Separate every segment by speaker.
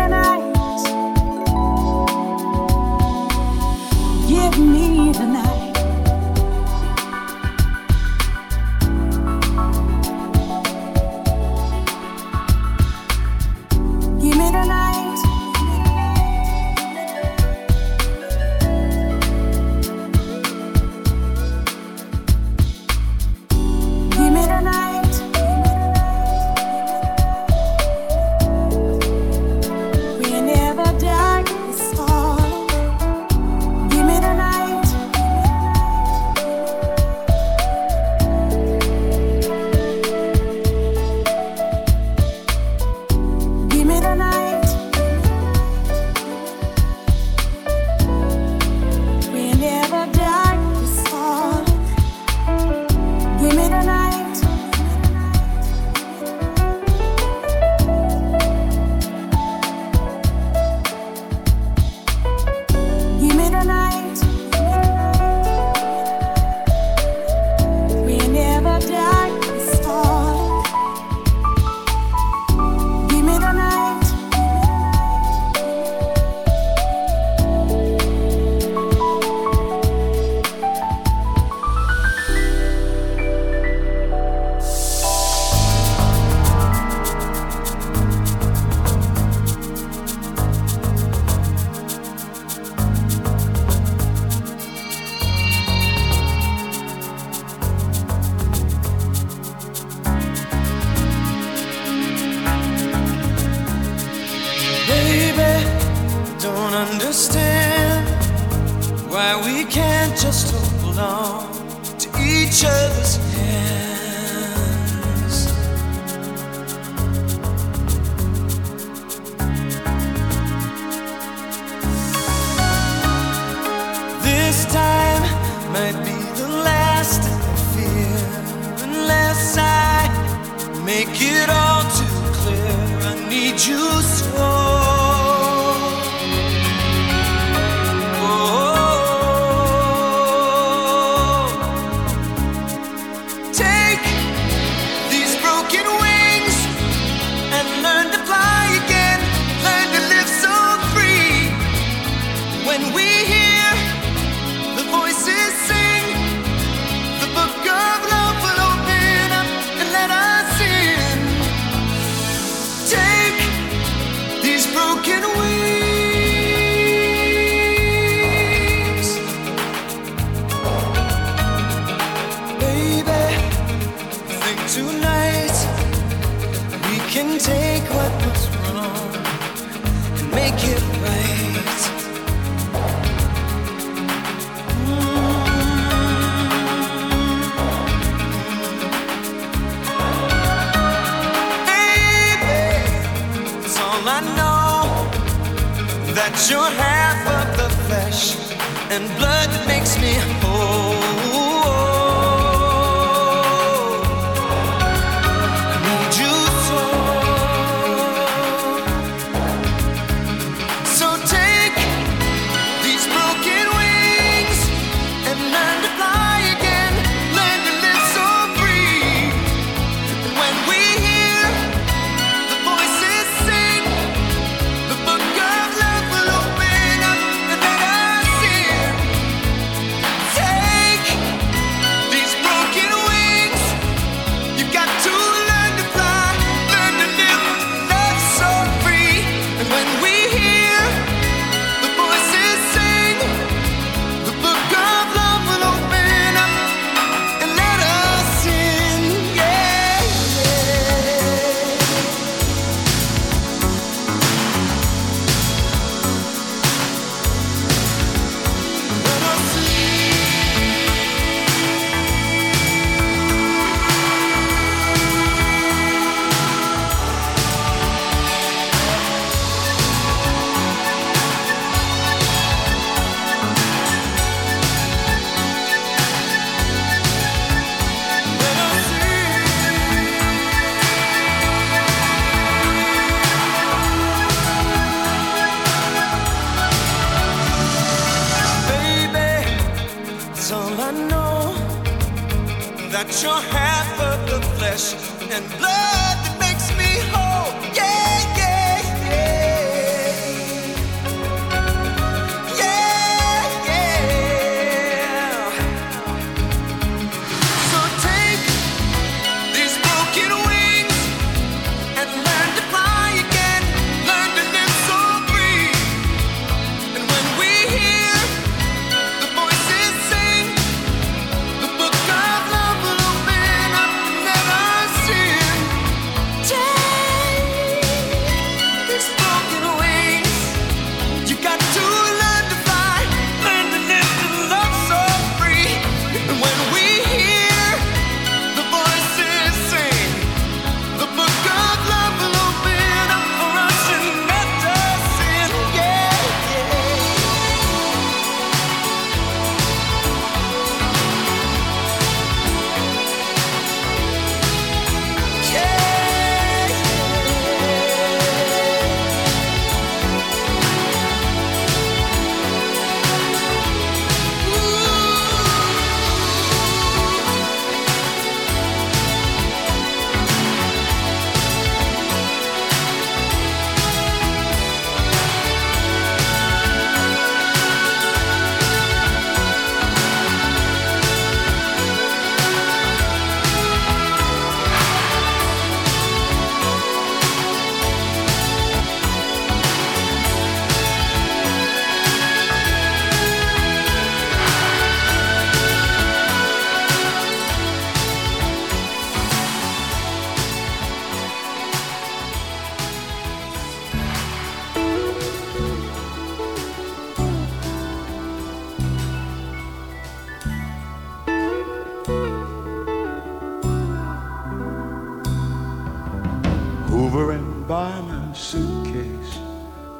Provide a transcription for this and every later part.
Speaker 1: and blood that makes me whole. Yeah, yeah, yeah.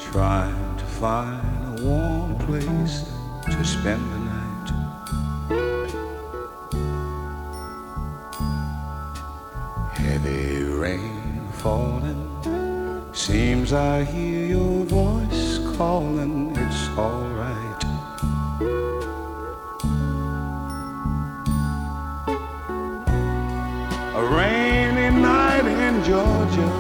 Speaker 1: trying to find a warm place to spend the night. Heavy rain falling, seems I hear your voice calling, it's alright. A rainy night in Georgia,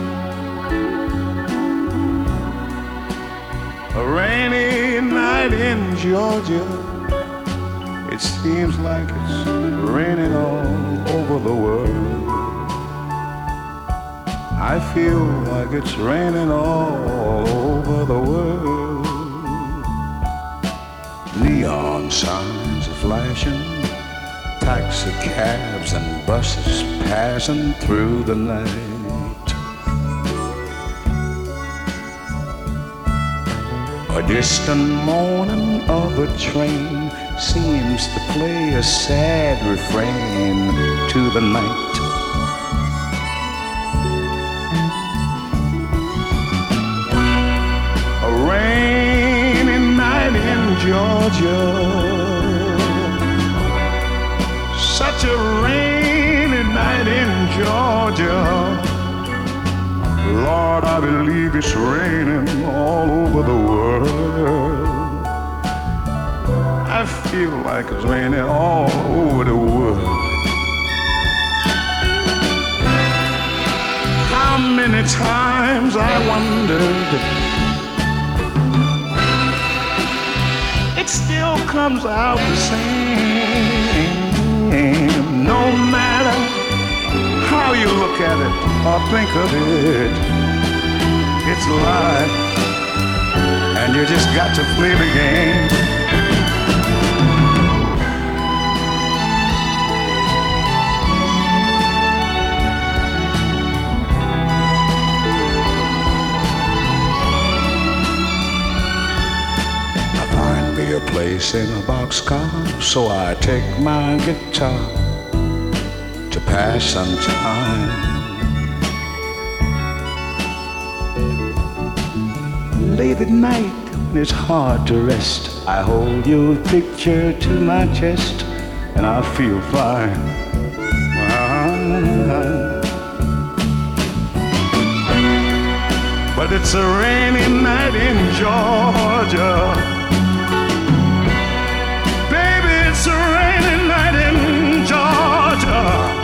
Speaker 1: a rainy night in Georgia. It seems like it's raining all over the world. I feel like it's raining all over the world. Neon signs are flashing, taxi cabs and buses passing through the night. A distant moaning of a train seems to play a sad refrain to the night. A rainy night in Georgia, such a rainy night in Georgia. Lord, I believe it's raining all over the world. I feel like it's raining all over the world. How many times I wondered, it still comes out the same. No matter how you look at it or think of it, it's life, and you just got to play the game. I find me a place in a boxcar, so I take my guitar to pass some time. Late at night when it's hard to rest, I hold your picture to my chest and I feel fine. But it's a rainy night in Georgia. Baby, it's a rainy night in Georgia.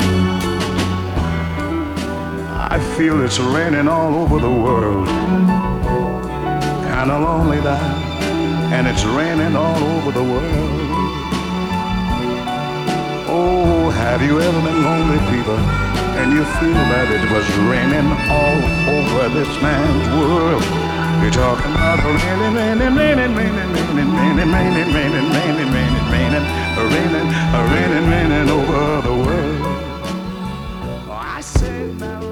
Speaker 1: I feel it's raining all over the world. Kinda lonely now, and it's raining all over the world. Oh, have you ever been lonely, people, and you feel that it was raining all over this man's world? You're talking about raining, raining, raining, raining, raining, raining, raining, raining, raining, raining, raining, raining, raining, raining over the world. Oh, I said now.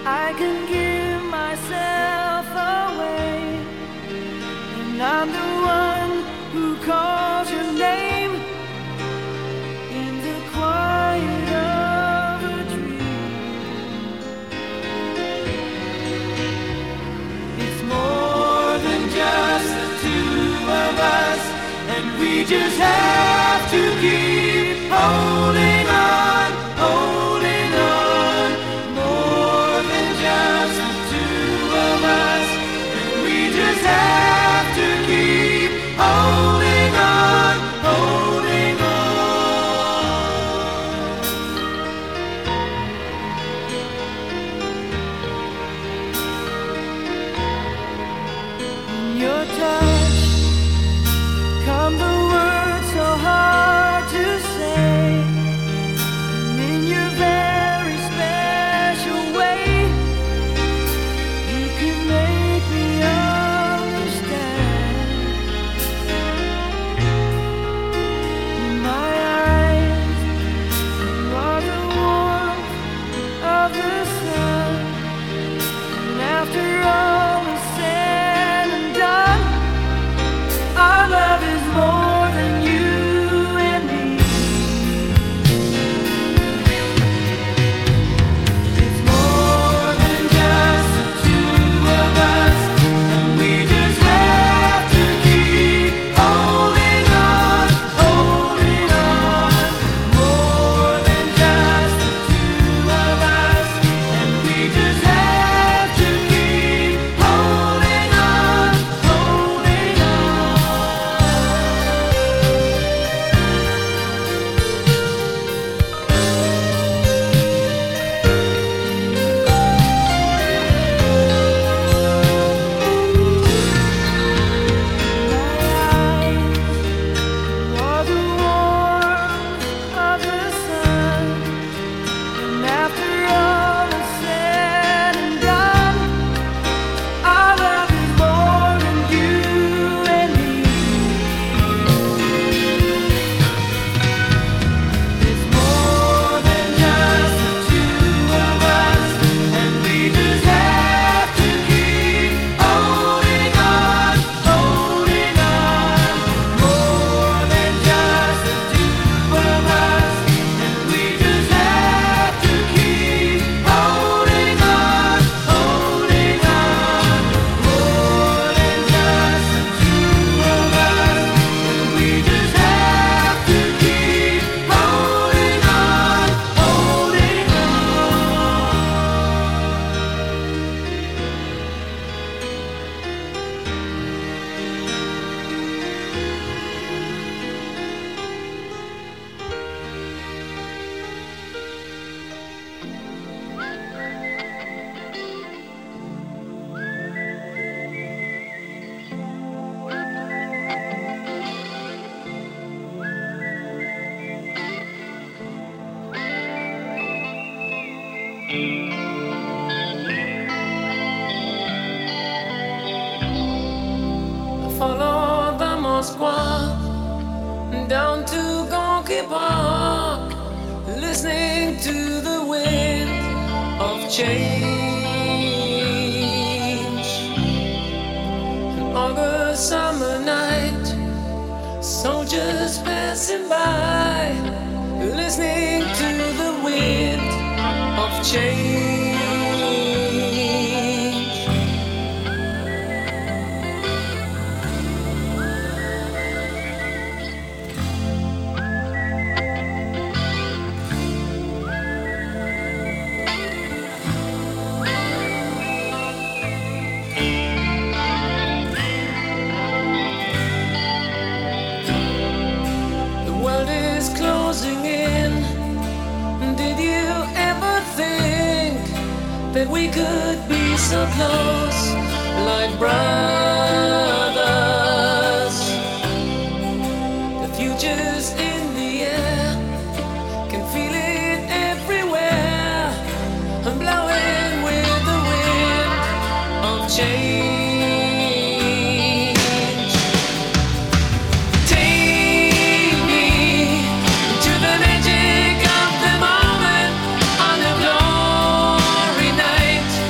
Speaker 2: I can give myself away, and I'm the one who calls your name in the quiet of a dream. It's more than just the two of us, and we just have to keep holding on, holding on. More than just the two of us, and we just have to keep holding on, holding on. In your touch come the words so hard to say, and in your very special way, you can make me understand. In my eyes, you are the warmth of the sun, and after all is said and done, our love is more than you and me. It's more than just the two of us, and we just have to keep holding on, holding on. More than just the two of us, and we just have to keep holding on, holding on. You're the warmth of the sun, and after all is said and done, our love is more than you and me. It's more than just the two of us, and we just have to keep holding on, holding on. More than just the two of us, and we just have to keep holding on, holding on. More than just the two of us, and we just have to keep holding on, holding
Speaker 3: Follow the Moskva down to Gonky Park, listening to the wind of change. An August summer night, soldiers passing by, listening to the wind of change. The world is closing in. Did you ever think that we could be so close, like brothers? The future's in the air, can feel it everywhere. I'm blowing with the wind of change. Take me to the magic of the moment on a glory night.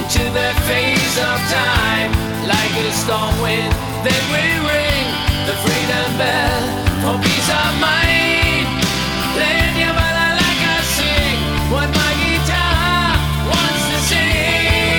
Speaker 3: to the face of time. Like a storm wind, they will ring the freedom bell for peace of mind. Playing your ballad like I sing what my guitar wants to sing.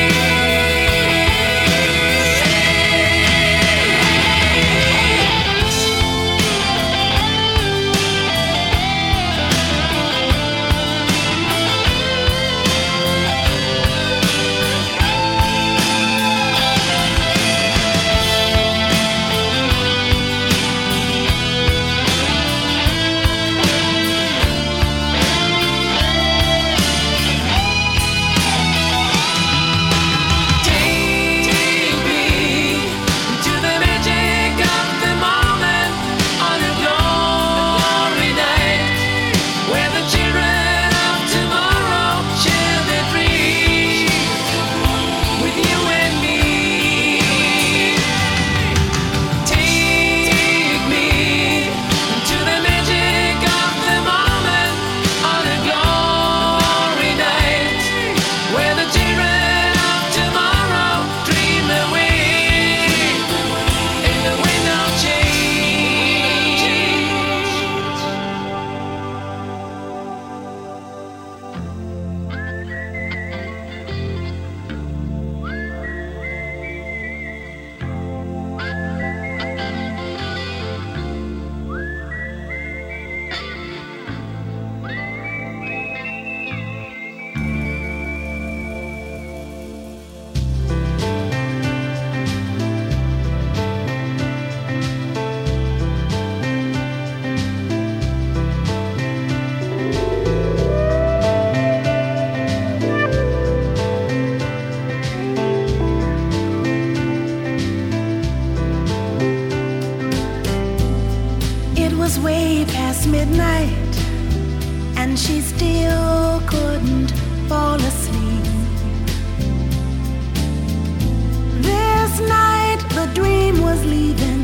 Speaker 4: Way past midnight, and she still couldn't fall asleep. This night the dream was leaving.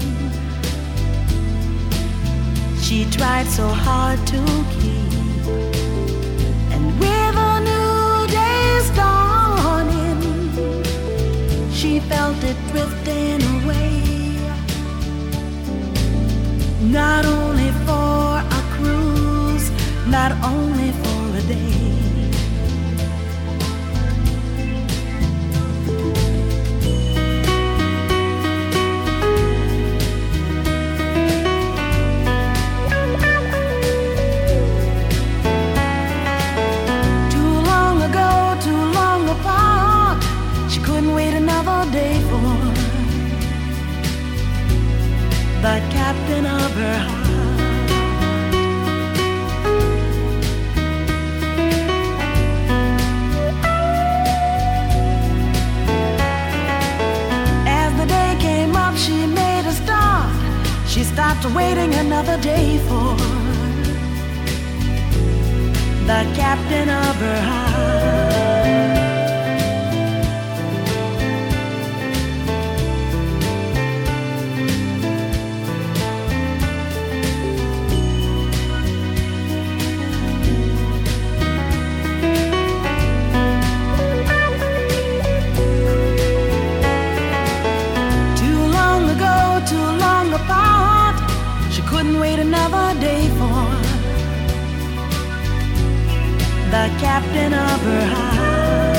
Speaker 4: She tried so hard to keep, and with a new day's dawning, she felt it drifting away. Not only for a cruise, not only for a day. Too long ago, too long apart, she couldn't wait another day for the captain of her heart. As the day came up, she made a start. She stopped waiting another day for the captain of her heart. Couldn't wait another day for the captain of her heart.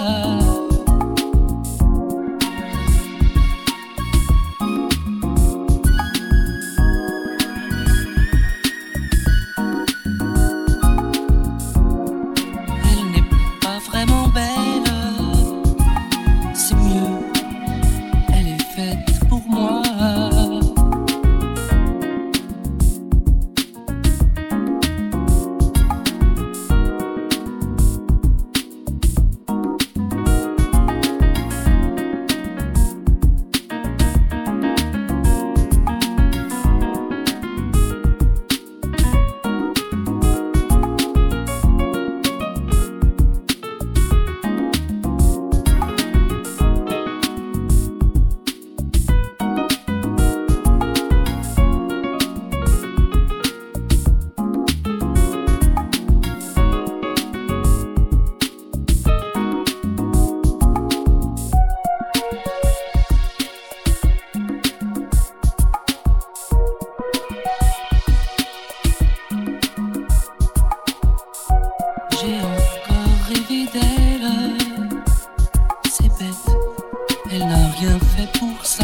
Speaker 5: Elle n'est pas vraiment belle, c'est mieux, elle est faite pour moi. J'ai encore rêvé d'elle, c'est bête, elle n'a rien fait pour ça.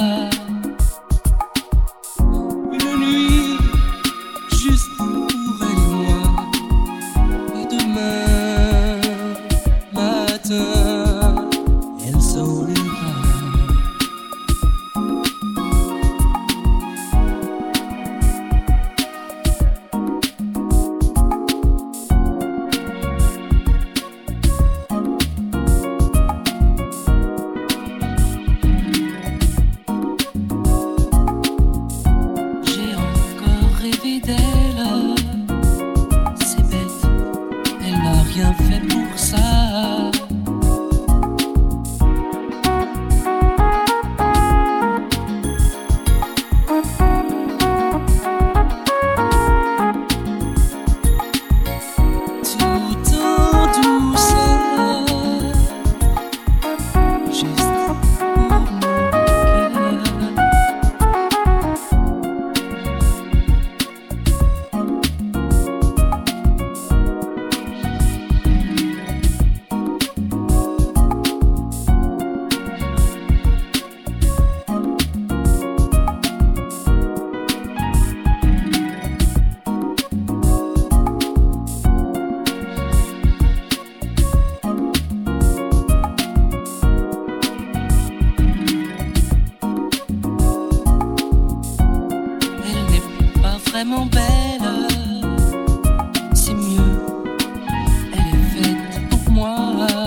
Speaker 5: Une nuit, juste pour elle et moi, et demain matin, elle s'en ira. J'ai encore rêvé d'elle, c'est bête, elle n'a rien fait pour ça. Tout en douceur, juste pour mon cœur. Elle n'est pas vraiment belle, c'est mieux, elle est faite pour moi.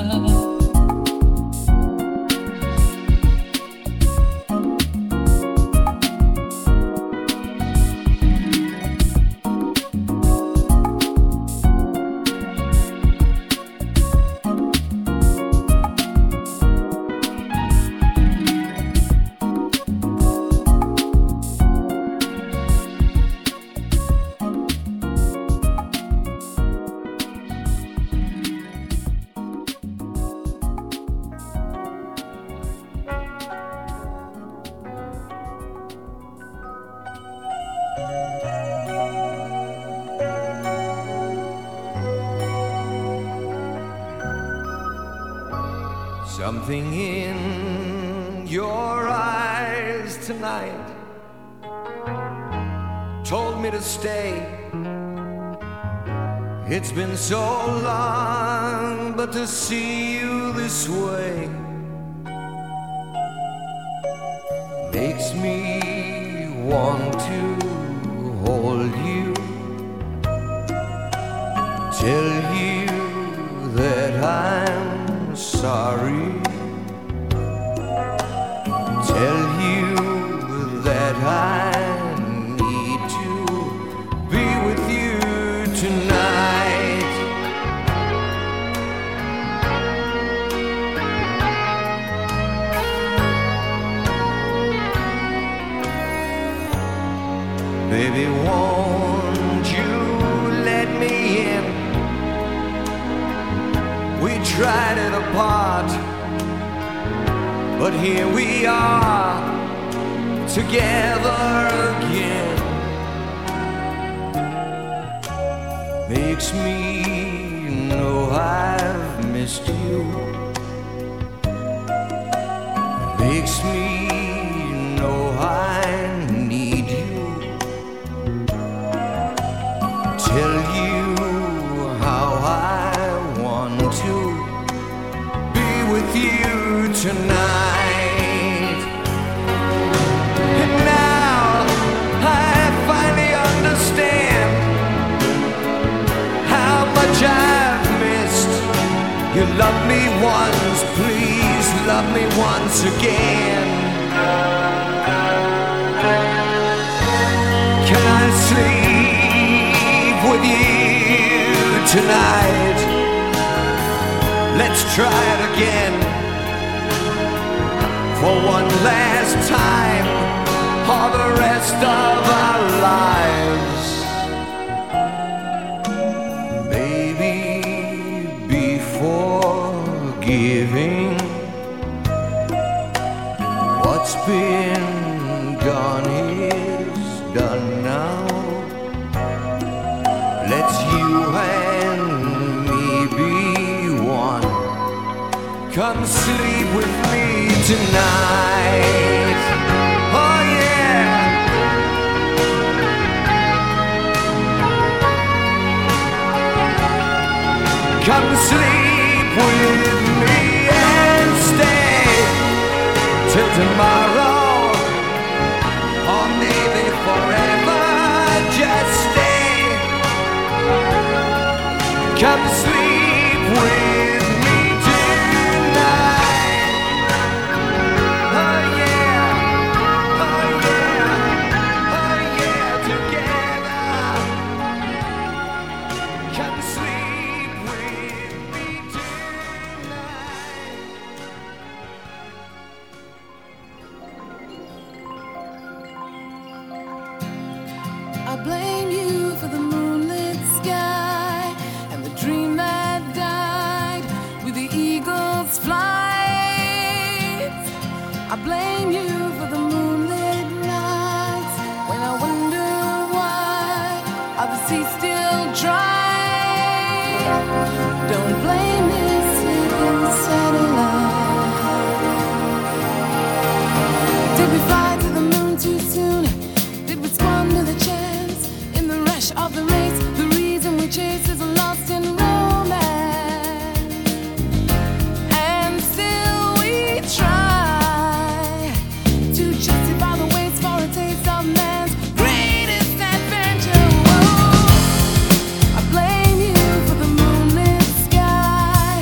Speaker 2: Something in your eyes tonight told me to stay. It's been so long, but to see you this way makes me want to hold you, tell you that I'm sorry, tell you that I need to be with you tonight. Baby, won't you let me in? We tried it apart, but here we are together again. Makes me know I've missed you,
Speaker 6: makes me know I need you. Tell you how I want to be with you tonight. And now I finally understand how much I've missed. You love me once, please love me once again. Can I sleep with you tonight? Let's try it again. For one last time, for the rest of our lives. Baby, before giving, what's been done is done now. Let's you and me be one. Come sleep with me tonight. Oh yeah. Come sleep with me and stay till tomorrow, or maybe forever. Just stay. Come sleep with me tonight. Oh yeah, oh yeah, oh yeah, together. Come sleep with me tonight.
Speaker 4: I blame you for the moonlit sky and the dream that died with the eagle's flight. I blame you for the moonlit nights when I wonder why are the seas still dry. Don't blame this sleeping satellite. Did we fly to the moon too soon? Did we squander the chance in the rush of the race? The reason we chase is lost in romance, and still we try to justify the waste for a taste of man's greatest adventure. Whoa. I blame you for the moonlit sky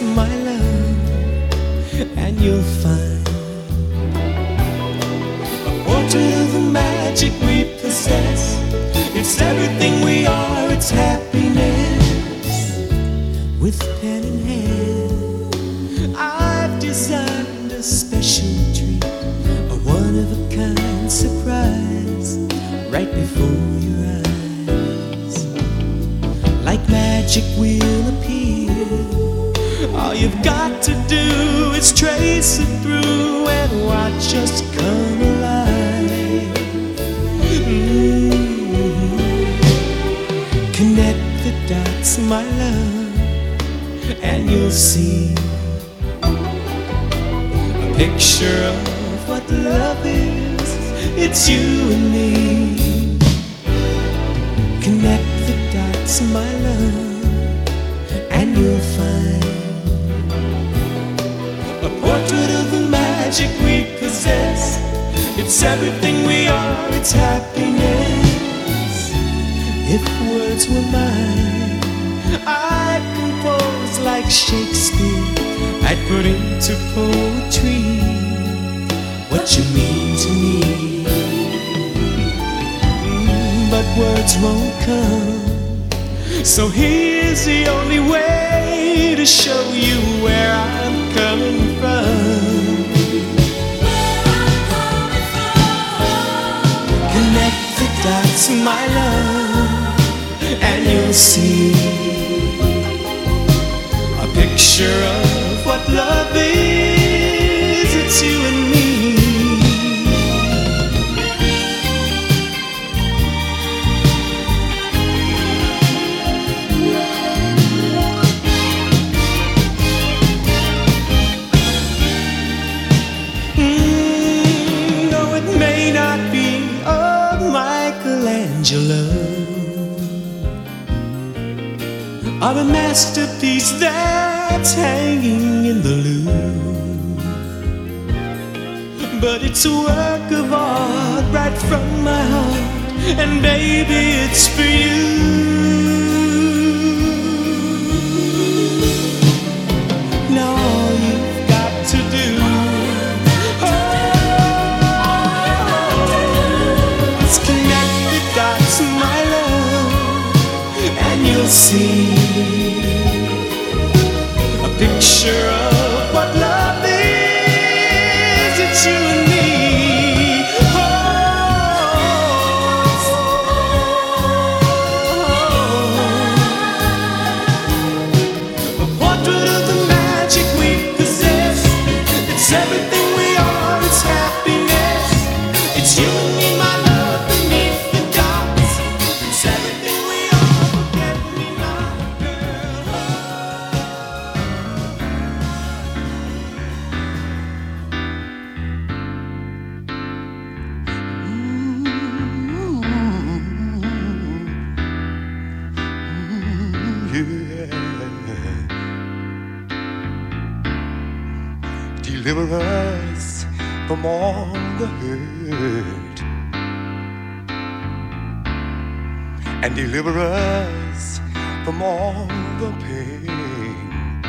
Speaker 6: my love, and you'll find a portrait of the magic we possess. It's everything we are, it's happiness. With pen in hand, I've designed a special treat, a one-of-a-kind surprise, right before your eyes. Like magic will appear. All you've got to do is trace it through and watch us come alive. Connect the dots, my love, and you'll see a picture of what love is. It's you and me. Connect the dots, my love, and you'll find a portrait of the magic we possess. It's everything we are, it's happiness. If words were mine, I'd compose like Shakespeare. I'd put into poetry what you mean to me. But words won't come, so here's the only way to show you where I'm coming from. Connect the dots, my love, and you'll see a picture of what love is. It's you and me. No, it may not be a Michelangelo or a masterpiece that's hanging in the Louvre, but it's a work of art right from my heart, and baby, it's for you. Now all you've got to do is connect the dots, my love, and you'll see a picture of what love is. It's you and me. A portrait of the magic we possess. It's everything we are, it's happiness. It's you and me, my love, beneath the dots. It's everything we are, forget me not, girl.
Speaker 1: Yeah. Deliver us from all the hurt and deliver us from all the pain.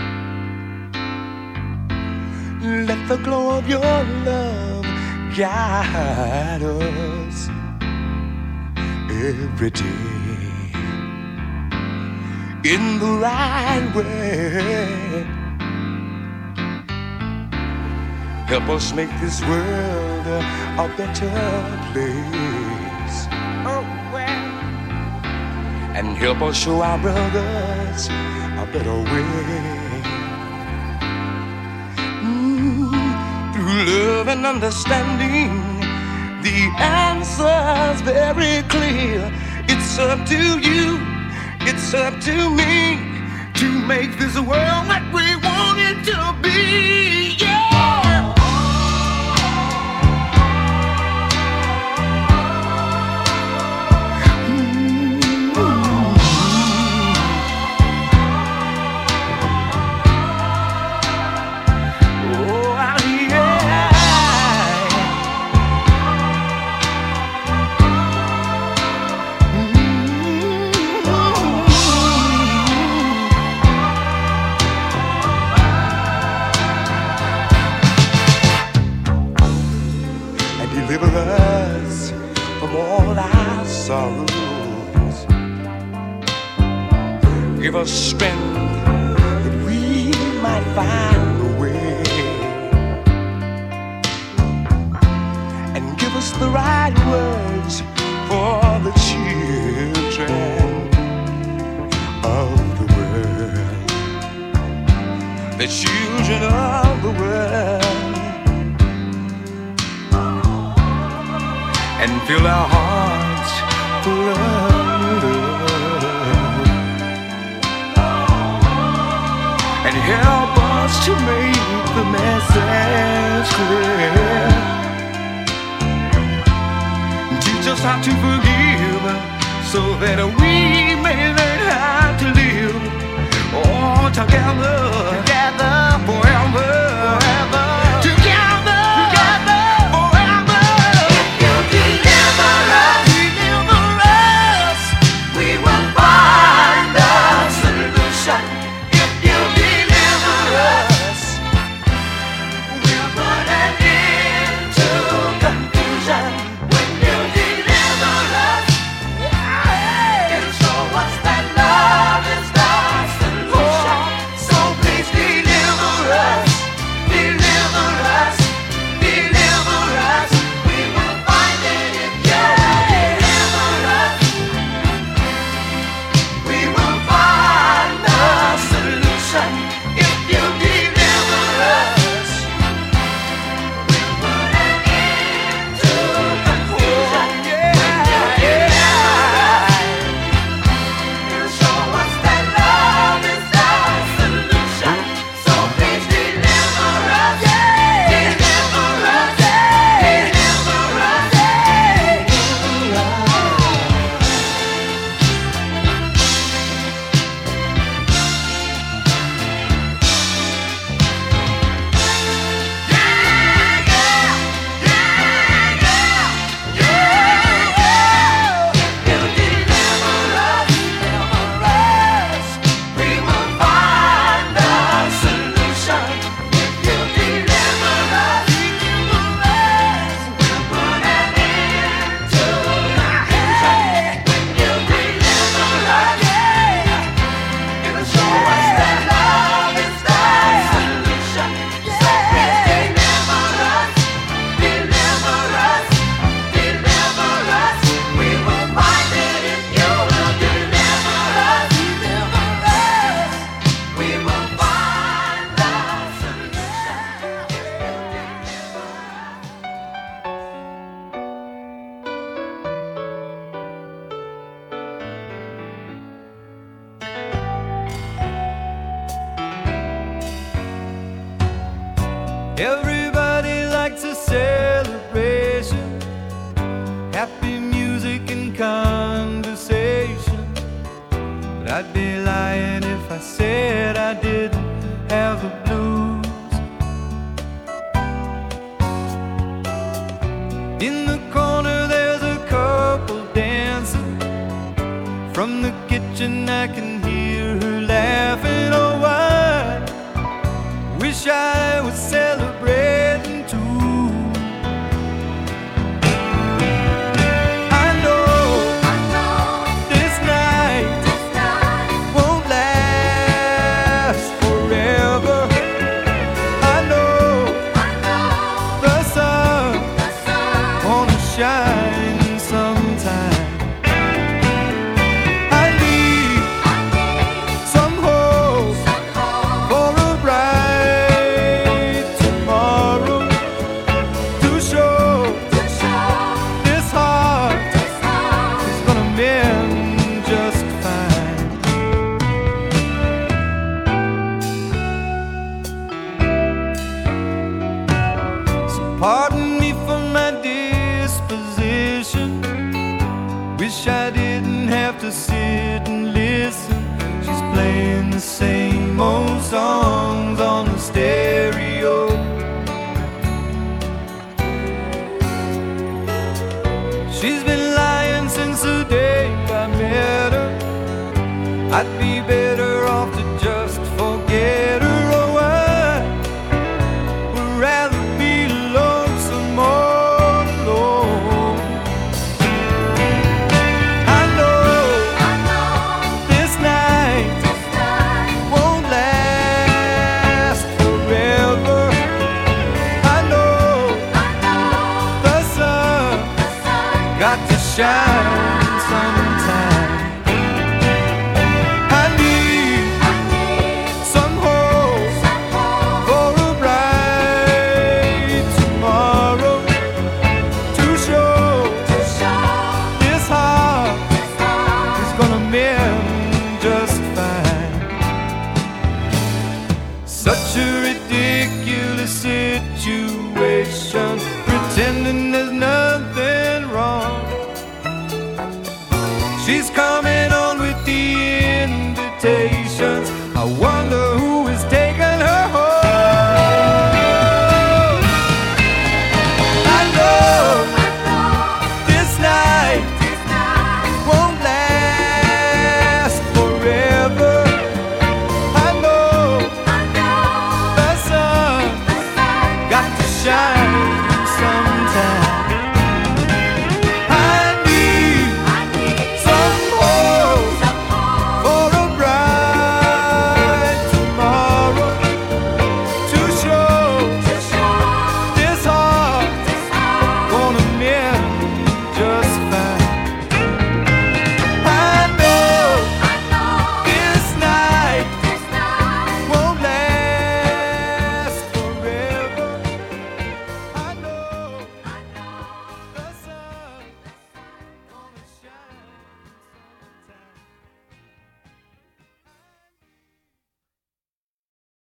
Speaker 1: Let the glow of your love guide us every day in the right way. Help us make this world a better place. Oh, well. And help us show our brothers a better way. Through love and understanding, the answer's very clear. It's up to you, it's up to me to make this world what we want it to be. Yeah. give us strength that we might find a way, and give us the right words for the children of the world, the children of the world, and fill our hearts full of love, and help us to make the message clear. Teach us how to forgive so that we may learn how to live all together, together, forever, forever, together, together, forever.
Speaker 2: If you deliver us, we will find a solution. If you deliver us, we'll put an end to confusion. When you deliver us, it'll show us that love is the solution. So please deliver us, deliver us, deliver us. We will find it if you deliver us. We will find the solution if you deliver us. We'll put an end to confusion. When you deliver us, it'll show us that love is the solution. So please deliver us, deliver us, deliver us, deliver
Speaker 6: Everybody likes a celebration, happy music and conversation. But I'd be lying if I said I didn't have the blues. In the corner there's a couple dancing. From the kitchen I can hear her laughing. Oh, I wish I was celebrating too. I know this night won't last forever. I know the sun gonna shine sometime. I need some hope for a bright tomorrow to show this heart is gonna mend just fine. So pardon me for my disposition. Wish I didn't have to sit and listen. She's playing the same old songs on the stereo. She's been lying since the day I met her. I'd be better off to just forget her. Oh, I would rather be lonesome all alone. I know this night
Speaker 7: shine.